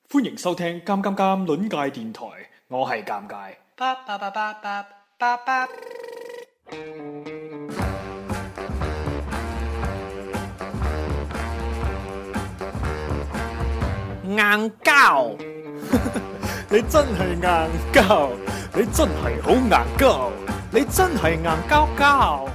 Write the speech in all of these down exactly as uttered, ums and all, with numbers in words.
歡迎收聽《尷尷尷》論界電台，我係尷尬。 硬膠， 你真係硬膠，你真係好硬膠，你真係硬膠膠。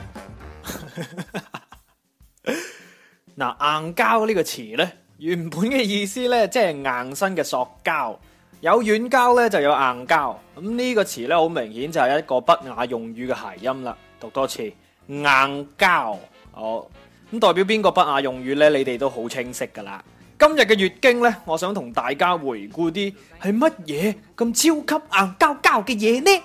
嗱，硬膠呢個詞呢，原本嘅意思呢，即係硬身嘅塑膠，有軟膠呢，就有硬膠。咁呢個詞呢，好明顯就係一個不雅用語嘅諧音啦。讀多次，硬膠。好，咁代表邊個不雅用語呢？你哋都好清晰噶啦。今日嘅月經呢，我想同大家回顧啲係乜嘢咁超級硬膠膠嘅嘢呢？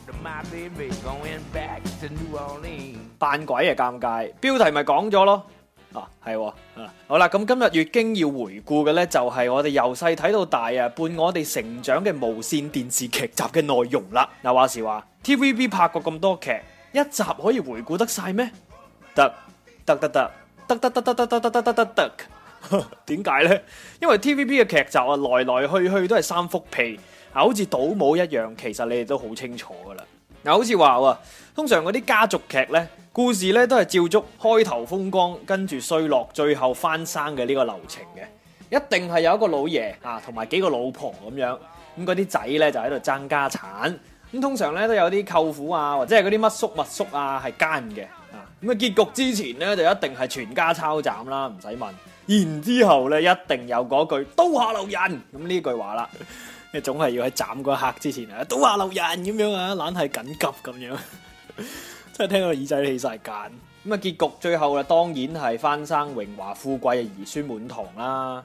扮鬼啊，尷尬！標題咪講咗咯。啊，係喎，啊，好啦，咁今日月經要回顧嘅呢，就係我哋由細睇到大啊，伴我哋成長嘅無線電視劇集嘅內容啦。嗱，話時話 T V B 拍過咁多劇，一集可以回顧得晒咩？得得得得得得得得得得得得得得。點解呢？因為 T V B 嘅劇集啊，來來去去都係三幅被啊，好似倒模一樣。其實你哋都好清楚噶啦。嗱，好似話喎，通常嗰啲家族劇呢，故事呢都係照足開頭風光，跟住衰落，最後翻生嘅呢個流程嘅。一定係有一個老爺啊，同埋幾個老婆咁樣。咁嗰啲仔呢就喺度爭家產。咁通常呢都有啲舅父啊，或者係嗰啲乜叔乜叔啊係奸嘅。啊，咁啊結局之前呢，就一定係全家抄斬啦，唔使問。然之後咧，一定有嗰句刀下留人咁呢句話啦，你總係要喺斬嗰一刻之前啊，刀下留人咁樣啊，懶係緊急咁樣，真係聽到耳仔起晒繭。咁啊，結局最後啊，當然係翻生榮華富貴嘅兒孫滿堂啦。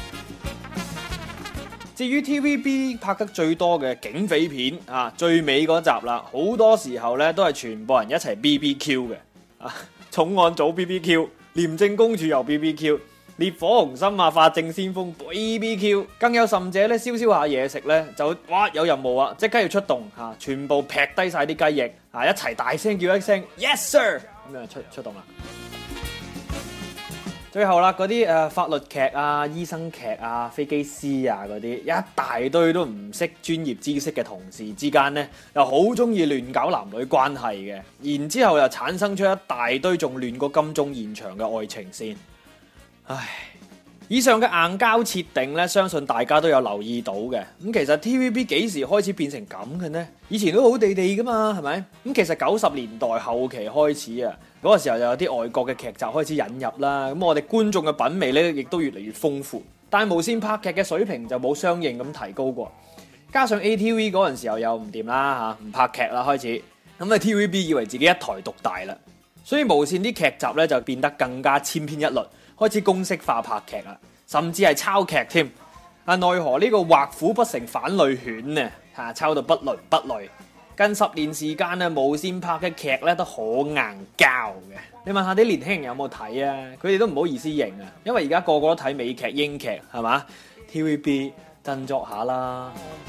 至於 T V B 拍得最多嘅警匪片啊，最尾嗰集啦，好多時候咧都係全部人一齊 B B Q 嘅啊，重案組 B B Q， 廉政公署又 B B Q。烈火雄心啊，法證先鋒 B B Q， 更有甚者咧，燒燒下嘢食咧，就哇有任務啊，即刻要出動嚇、啊，全部劈低晒啲雞翼啊，一齊大聲叫一聲 Yes sir， 咁樣出出動啦。最後啦，嗰啲誒法律劇啊、醫生劇啊、飛機師啊嗰啲，一大堆都唔識專業知識嘅同事之間咧，又好中意亂搞男女關係嘅，然之後又產生出一大堆仲亂過金鐘現場嘅愛情線。唉，以上嘅硬膠設定咧，相信大家都有留意到嘅。咁其實 T V B 幾時開始變成咁嘅呢？以前都好地地噶嘛，係咪？咁其實九十年代後期開始啊，嗰個時候就有啲外國嘅劇集開始引入啦。咁我哋觀眾嘅品味咧，亦都越嚟越豐富。但係無線拍劇嘅水平就冇相應咁提高過。加上 A T V 嗰陣時候又唔掂啦嚇，唔拍劇啦開始。咁啊 T V B 以為自己一台獨大啦，所以無線啲劇集咧就變得更加千篇一律。開始公式化拍劇啦，甚至係抄劇添。啊，奈何呢個畫虎不成反類犬呢？嚇，抄到不倫不類。近十年時間咧，無線拍嘅劇咧都好硬膠嘅。你問下啲年輕人有冇睇啊？佢哋都唔好意思認啊，因為而家個個都睇美劇、英劇，係嘛 ？T V B 振作下啦。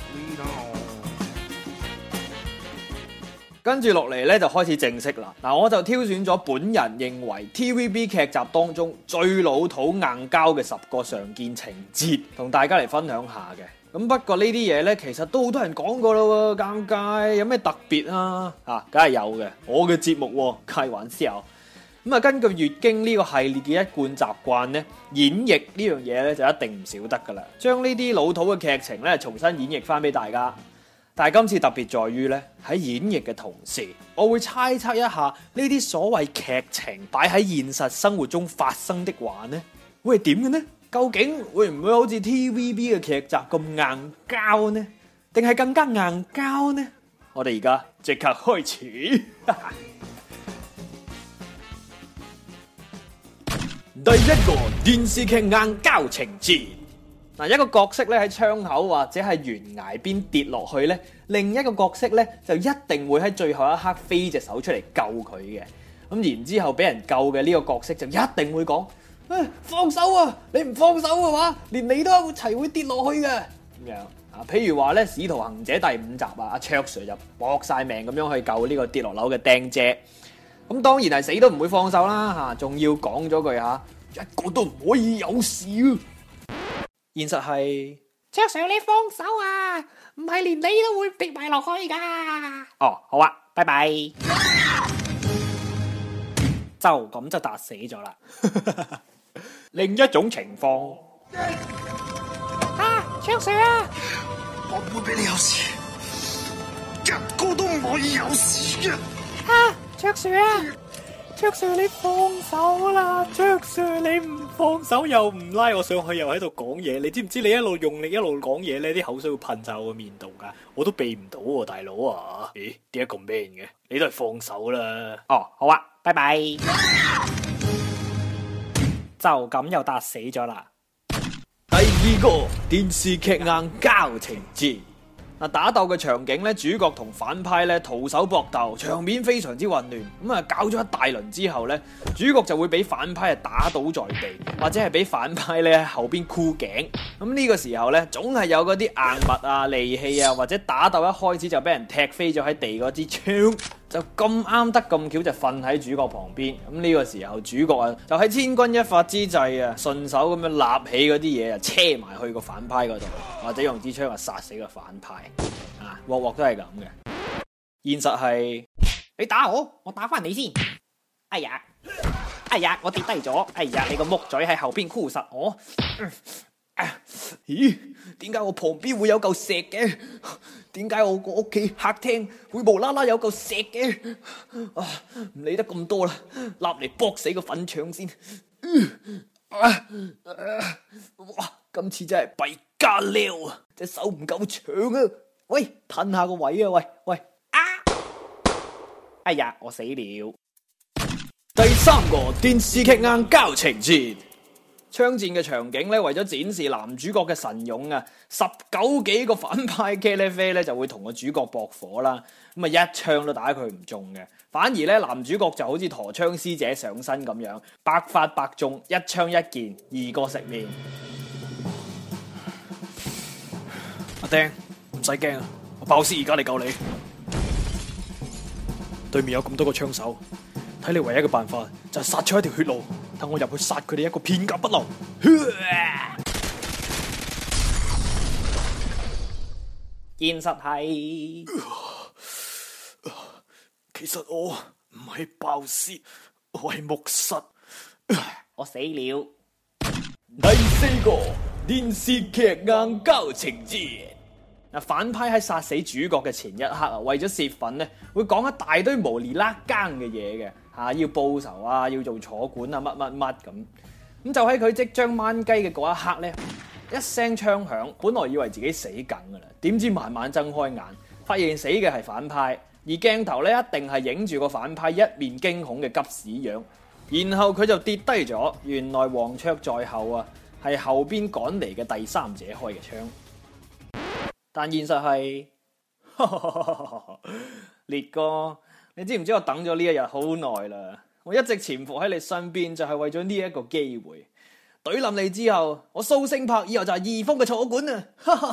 跟住落嚟咧就開始正式啦。嗱，我就挑選咗本人認為 T V B 劇集當中最老土硬膠嘅十個常見情節，同大家嚟分享下嘅。咁不過呢啲嘢咧，其實都好多人講過啦喎，尷尬，有咩特別啊？啊，梗係有嘅，我嘅節目喎，開玩笑。咁啊，根據月經呢個系列嘅一貫習慣咧，演繹呢樣嘢咧就一定唔少得噶啦，將呢啲老土嘅劇情咧重新演繹翻俾大家。但係今次特別在於咧，喺演繹嘅同時，我會猜測一下呢啲所謂劇情擺喺現實生活中發生的話呢，會係點嘅呢？究竟會唔會好似 T V B 嘅劇集咁硬膠呢？定係更加硬膠呢？我哋而家即刻開始。第一個電視劇硬膠情節。嗱，一個角色咧喺窗口或者係懸崖邊跌落去咧，另一個角色咧就一定會喺最後一刻飛隻手出嚟救佢嘅。咁然之後俾人救嘅呢個角色就一定會講：誒，放手啊！你唔放手嘅話，連你都一齊會跌落去嘅。咁樣啊，譬如話咧《使徒行者》第五集啊，阿卓 Sir 就搏晒命咁樣去救呢個跌落樓嘅釘姐。咁當然係死都唔會放手啦嚇，仲要講咗句嚇，一個都唔可以有事啊！現實係卓 Sir 你放手啊，唔係連你都會跌埋落去噶。 哦，好啊，拜拜。 就咁就打死咗啦。 另一種情況， 啊，卓 Sir 啊， 我唔會俾你有事，一個都唔可以有事嘅。 啊，卓 Sir 啊，卓 Sir 你放手啦，卓 Sir 你唔放手又唔拉我上去，又喺度講嘢。你知唔知你一路用力一路講嘢咧，啲口水會噴晒我個面度噶，我都避唔到喎，大佬啊！咦，點解咁 man 嘅？你都係放手啦。 哦，好啊，拜拜。就咁又打死咗啦。 第二個電視劇硬交情節。嗱，打鬥嘅場景咧，主角同反派咧徒手搏鬥，場面非常之混亂。咁啊，搞咗一大輪之後咧，主角就會俾反派啊打倒在地，或者係俾反派咧喺後邊箍頸。咁呢個時候咧，總係有嗰啲硬物啊、利器啊，或者打鬥一開始就俾人踢飛咗喺地嗰支槍，就咁啱得咁巧就瞓喺主角旁邊。咁呢個時候主角啊，就喺千鈞一髮之際啊，順手咁樣立起嗰啲嘢啊，車埋去個反派嗰度，或者用支槍啊殺死個反派。啊，鑊鑊都係咁嘅。現實係你打我，我打翻你先。哎呀，哎呀，我跌低咗。哎呀，你個木嘴喺後邊箍實我。嗯啊、 咦？點解我旁邊會有嚿石嘅？點解我個屋企客廳會無啦啦有嚿石嘅？啊，唔理得咁多啦，立嚟搏死個粉腸先。啊啊、哇！今次真係弊家撩啊！隻手唔夠長啊！喂，褪下個位啊！喂喂啊！ 哎呀，我死了。 第三個電視劇硬交情節。槍戰嘅場景咧，為咗展示男主角嘅神勇啊，十九幾個反派茄喱啡咧就會同個主角駁火啦，咁啊一槍都打佢唔中嘅，反而咧男主角就好似陀槍師姐上身咁樣，百發百中，一槍一件，二個食面。 阿丁，唔使驚啊，我爆屍而家嚟救你。對面有咁多個槍手，睇你唯一嘅辦法就係殺出一條血路，等我入去殺佢哋一個片甲不留。 現實係， 其實我唔係爆屍，我係木塞。 我死了。 第四個電視劇硬交情節。嗱，反派喺殺死主角嘅前一刻啊，為咗泄憤咧，會講一大堆無厘啦更嘅嘢嘅嚇，要報仇啊，要做坐館啊，乜乜乜咁。咁就喺佢即將掹雞嘅嗰一刻咧，一聲槍響，本來以為自己死梗噶啦，點知慢慢睜開眼，發現死嘅係反派，而鏡頭咧一定係影住個反派一面驚恐嘅急屎樣，然後佢就跌低咗。原來黃雀在後啊，係後邊趕嚟嘅第三者開嘅槍。但現實係，烈哥，你知唔知我等咗呢一日好耐啦？我一直潛伏喺你身邊，就係為咗呢一個機會。懟冧你之後，我蘇星柏以後就係二峰嘅坐館啊！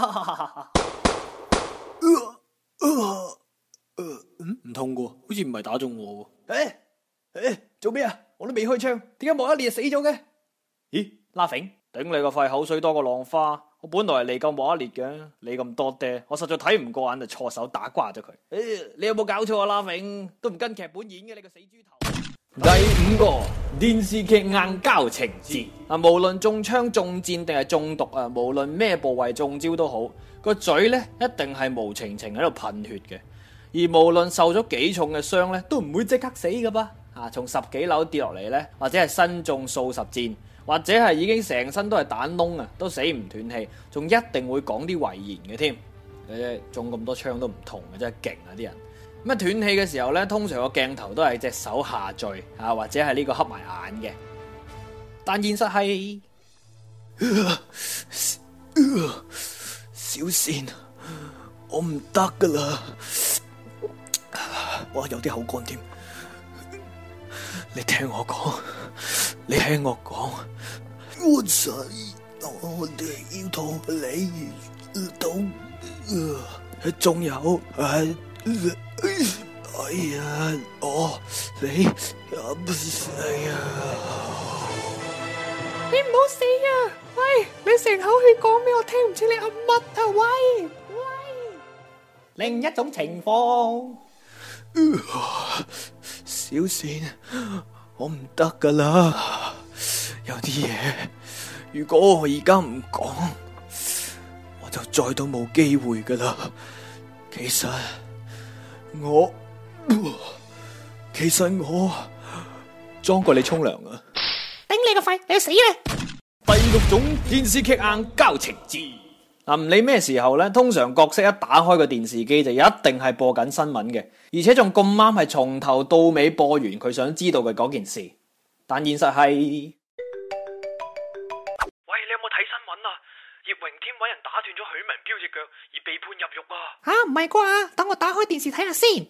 唔痛噶，好似唔係打中我喎。 誒誒，做咩啊？我都未開槍，點解莫一列死咗嘅？咦，拉揈，頂你個肺，口水多過浪花。我本來係嚟救莫一列嘅，你咁多爹，我實在睇唔過眼，就錯手打瓜咗佢。誒，你有冇搞錯啊？拉揈都唔跟劇本演嘅，你個死豬頭！第五個電視劇硬交情節啊，無論中槍、中箭定係中毒啊，無論咩部位中招都好，個嘴咧一定係無情情喺度噴血嘅，而無論受咗幾重嘅傷咧，都唔會即刻死噶噃。啊，從十幾樓跌落嚟咧，或者係身中數十箭，或者係已經成身都係彈窿啊，都死唔斷氣，仲一定會講啲遺言嘅添。誒，中咁多槍都唔痛嘅，真係勁啊啲人。咁啊斷氣嘅時候咧，通常個鏡頭都係隻手下墜啊，或者係呢個瞌埋眼嘅。但現實係， 小倩，我唔得噶啦，哇有啲口乾添。你聽我講，你聽我講，我仔，我哋要同你賭，仲有誒。哎呀，我你啊，哎呀， 你唔好死啊！ 喂，你成口血講咩？我聽唔清你噏乜啊！喂喂，另一種情況。 小倩，我唔得噶啦，有啲嘢如果我而家唔講，我就再都冇機會噶啦。其實我，其實我裝過你沖涼啊！ 頂你個肺，你去死啦！ 第六種電視劇硬膠情節。嗱，唔理咩時候咧，通常角色一打開個電視機就一定係播緊新聞嘅，而且仲咁啱係從頭到尾播完佢想知道嘅嗰件事。但現實係，喂，你有冇睇新聞啊？葉榮添搵人打斷咗許文彪隻腳而被判入獄啊！ 吓，唔係啩？等我打開電視睇下先。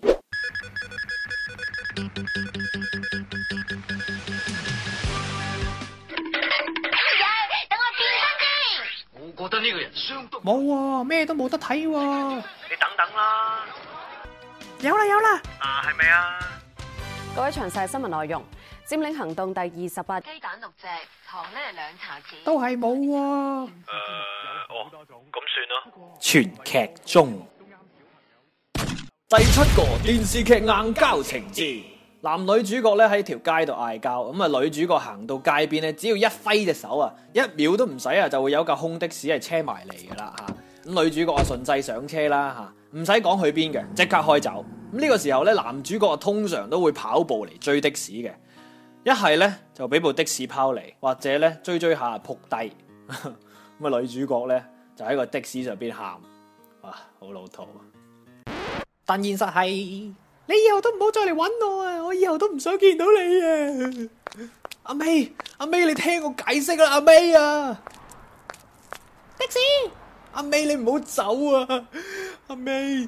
我覺得呢個人相當冇喎，咩都冇得睇喎。 你等等啦。 有啦有啦。 啊，係咪啊？ 各位詳細新聞內容：佔領行動第二十八， 雞蛋六隻，糖呢兩茶匙。 都係冇喎。 誒，哦，咁算啦。 全劇終。第七個電視劇硬膠情節。男女主角咧喺條街度嗌交，咁啊女主角行到街邊咧，只要一揮隻手啊，一秒都唔使啊，就會有架空的士係車埋嚟噶啦吓。咁女主角啊順勢上車啦吓，唔使講去邊嘅，即刻開走。咁呢個時候咧，男主角啊通常都會跑步嚟追的士嘅，一係咧就俾部的士拋離，或者咧追追下撲低。咁啊女主角咧就喺個的士上邊喊，哇好老土。 但現實係。你以後都唔好再嚟搵我啊！我以後都唔想見到你啊！ 阿 May， 阿 May， 你聽我解釋啦，阿 May 啊！ 的士， 阿 May 你唔好走啊！阿 May，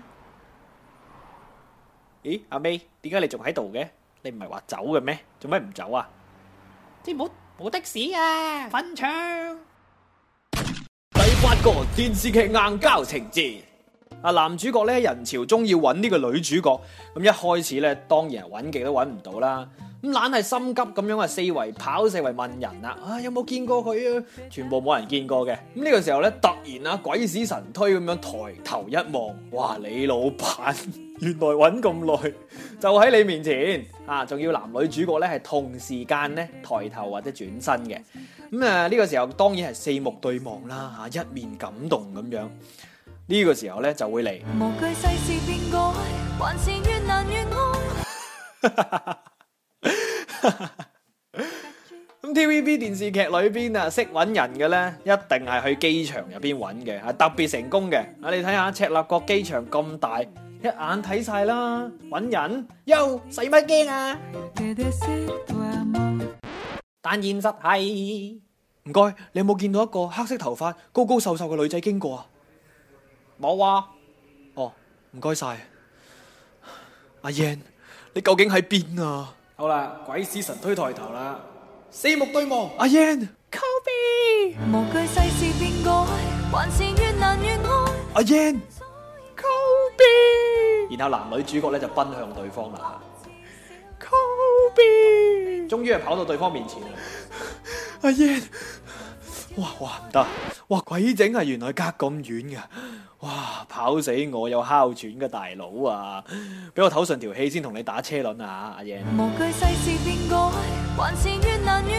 咦？阿 May， 點解你仲喺度嘅？你唔係話走嘅咩？做咩唔走啊？ 即係冇冇的士啊！墳場。 第八個電視劇硬膠情節。啊，男主角咧人潮中要揾呢個女主角，咁一開始咧當然係揾極都揾唔到啦，咁懶係心急咁樣啊四圍跑四圍問人啦，啊有冇見過佢啊？全部冇人見過嘅，咁呢個時候咧突然啊鬼使神推咁樣抬頭一望，哇你老闆原來揾咁耐就喺你面前啊，仲要男女主角咧係同時間咧抬頭或者轉身嘅，咁啊呢個時候當然係四目對望啦，吓一面感動咁樣。呢、這個時候咧就會嚟。無懼世事變改，還是越難越愛。咁 T V B 電視劇裏邊啊，識揾人嘅咧，一定係去機場入邊揾嘅，係特別成功嘅。啊，你睇下赤鱲角機場咁大，一眼睇晒啦，揾人，喲，使乜驚啊？ 但現實係， 唔該，你有冇見到一個黑色頭髮、高高瘦瘦嘅女仔經過啊？ 冇啊！ 哦，唔該晒，阿 Yan， 你究竟喺邊啊？ 好啦，鬼使神推抬頭啦，四目對望， 阿 Yan，Kobe， 無懼世事變改，還是越難越愛。 阿 Yan，Kobe， 然後男女主角咧就奔向對方啦。Kobe， 終於係跑到對方面前啦。阿 Yan， 哇哇唔得，哇鬼整啊！原來隔咁遠噶。哇！跑死我有哮喘嘅大佬啊！俾我唞順條氣先同你打車輪啊！阿爺。 無懼世事變改，還是越難越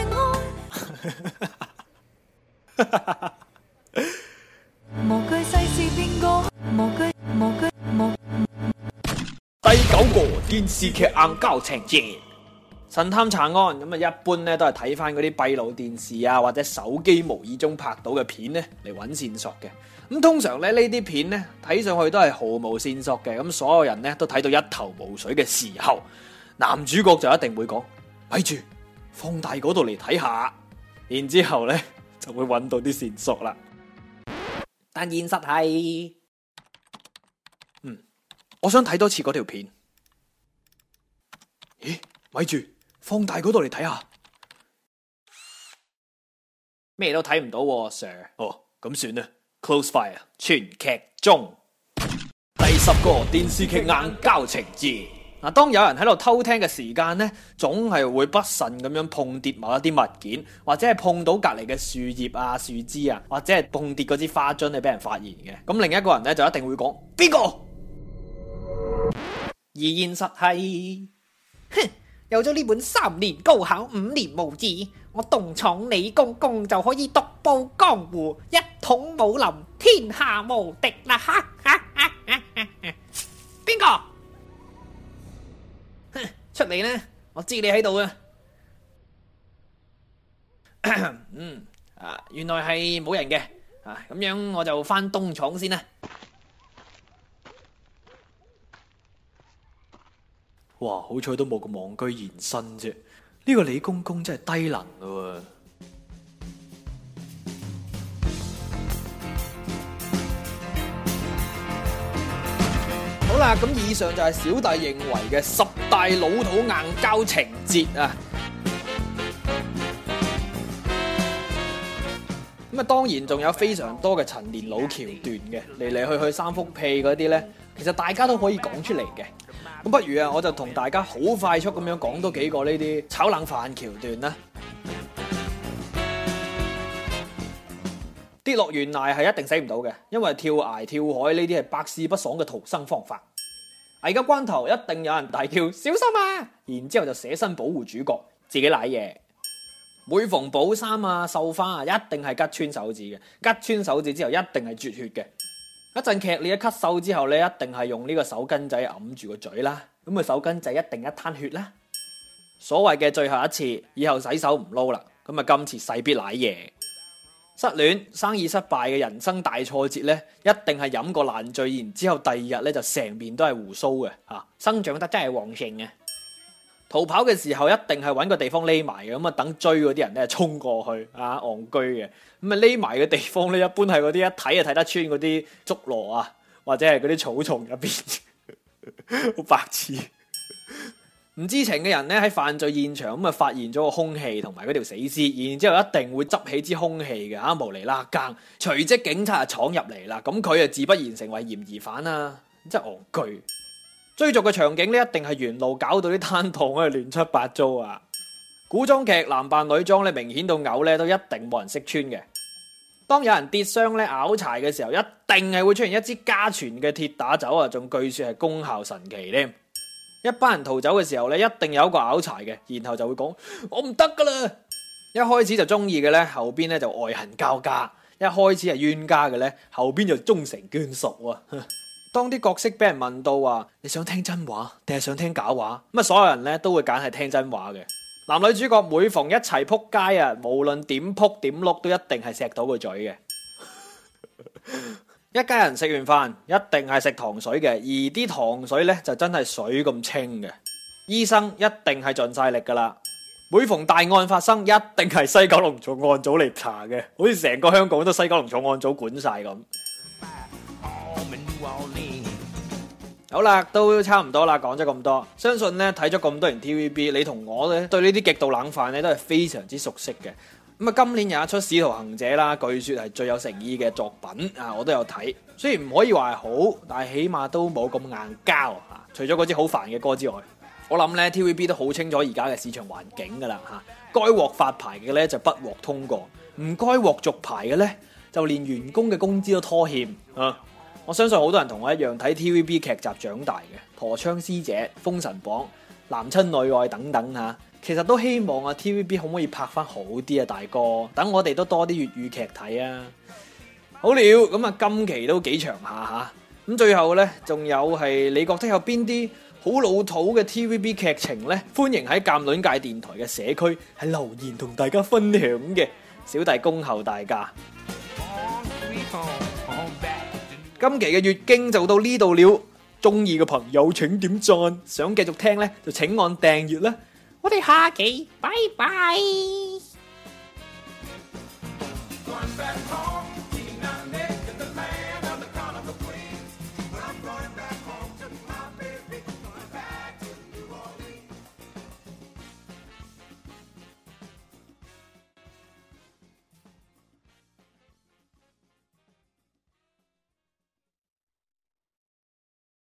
愛。無懼世事變改，無懼無懼無。 第九個電視劇硬膠情節。神探查案咁啊，一般咧都係睇翻嗰啲閉路電視啊，或者手機無意中拍到嘅片咧嚟揾線索嘅。咁通常咧呢啲片咧睇上去都係毫無線索嘅，咁所有人咧都睇到一頭霧水嘅時候，男主角就一定會講：咪住，放大嗰度嚟睇下，然之後咧就會揾到啲線索啦。 但現實係， 嗯，我想睇多次嗰條片。咦，咪住，放大嗰度嚟睇下， 咩都睇唔到喎 ，Sir。 哦，咁算啦。Close fire， 全劇終。第十個電視劇硬膠情節。 嗱，當有人喺度偷聽嘅時間咧，總係會不慎咁樣碰跌某一啲物件，或者係碰到隔離嘅樹葉啊、樹枝啊，或者係碰跌嗰支花樽係俾人發現嘅。咁另一個人咧就一定會講邊個？ 而現實係，哼，有咗呢本三年高考五年無字，我東廠李公公就可以獨步江湖，一統武林，天下無敵啦！哈哈哈哈哈！邊個？哼，出嚟啦！我知你喺度啊！嗯，啊，原來係冇人嘅，啊，咁樣我就返東廠先啦。 哇！好彩都冇咁戇居現身啫，呢個李公公真係低能噶喎。好啦，咁以上就係小弟認為嘅十大老土硬膠情節啊。咁啊，當然仲有非常多嘅陳年老橋段嘅，嚟嚟去去三幅屁嗰啲呢，其實大家都可以講出嚟嘅。咁不如啊，我就同大家好快速咁樣講多幾個呢啲炒冷飯橋段啦。跌落懸崖係一定死唔到嘅，因為跳崖跳海呢啲係百試不爽嘅逃生方法。危急關頭一定有人大叫小心啊，然之後就捨身保護主角，自己瀨嘢。每逢補衫啊、繡花啊，一定係吉穿手指嘅，吉穿手指之後一定係絕血嘅。一陣劇烈嘅咳嗽之後咧，一定係用呢個手巾仔揞住個嘴啦，咁啊手巾仔一定一灘血啦。所謂嘅最後一次，以後洗手唔撈啦，咁啊今次勢必瀨嘢。失戀、生意失敗嘅人生大挫折咧，一定係飲過爛醉，然之後第二日咧就成面都係鬍鬚嘅，嚇生長得真係旺盛嘅。逃跑嘅時候一定係揾個地方匿埋嘅，咁啊等追嗰啲人咧衝過去啊，戇居嘅。咁啊匿埋嘅地方咧，一般係嗰啲一睇就睇得穿嗰啲竹籮啊，或者係嗰啲草叢入邊，好白痴。唔知情嘅人咧喺犯罪現場咁啊發現咗個兇器同埋嗰條死屍，然之後一定會執起支兇器嘅嚇，無厘啦更，隨即警察就闖入嚟啦，咁佢啊自不然成為嫌疑犯啦，真係戇居。追逐嘅場景咧，一定係沿路搞到啲攤檔咧亂七八糟啊！古裝劇男扮女裝咧，明顯到嘔咧，都一定冇人識穿嘅。當有人跌傷咧拗柴嘅時候，一定係會出現一支家傳嘅鐵打酒啊，仲據說係功效神奇添。一班人逃走嘅時候咧，一定有一個拗柴嘅，然後就會講我唔得噶啦。一開始就中意嘅咧，後邊咧就愛恨交加；一開始係冤家嘅咧，後邊就終成眷屬啊！當啲角色俾人問到話你想聽真話定係想聽假話，咁啊所有人咧都會揀係聽真話嘅。男女主角每逢一齊撲街啊，無論點撲點碌都一定係錫到個嘴嘅。一家人食完飯一定係食糖水嘅，而啲糖水咧就真係水咁清嘅。醫生一定係盡晒力噶啦。每逢大案發生，一定係西九龍重案組嚟查嘅，好似成個香港都西九龍重案組管晒咁。好啦，都差唔多啦，講咗咁多，相信咧睇咗咁多年 T V B， 你同我咧對呢啲極度冷飯咧都係非常之熟悉嘅。咁啊，今年有一出《使徒行者》啦，據說係最有誠意嘅作品啊，我都有睇。雖然唔可以話係好，但係起碼都冇咁硬膠啊。除咗嗰支好煩嘅歌之外，我諗咧 T V B 都好清楚而家嘅市場環境噶啦吓，該獲發牌嘅咧就不獲通過，唔該獲續牌嘅咧就連員工嘅工資都拖欠啊。我相信好多人同我一樣睇 T V B 劇集長大嘅，陀槍師姐、封神榜、男親女愛等等吓，其實都希望啊 T V B 可唔可以拍翻好啲啊，大哥，等我哋都多啲粵語劇睇啊！好了，咁啊今期都幾長下吓，咁最後呢，仲有係你覺得有邊啲好老土嘅 T V B 劇情呢？歡迎喺鑑論界電台嘅社區喺留言同大家分享嘅，小弟恭候大家。今期嘅月經就到呢度了，中意嘅朋友請點讚，想繼續聽呢就請按訂閱啦。 我哋下期拜拜。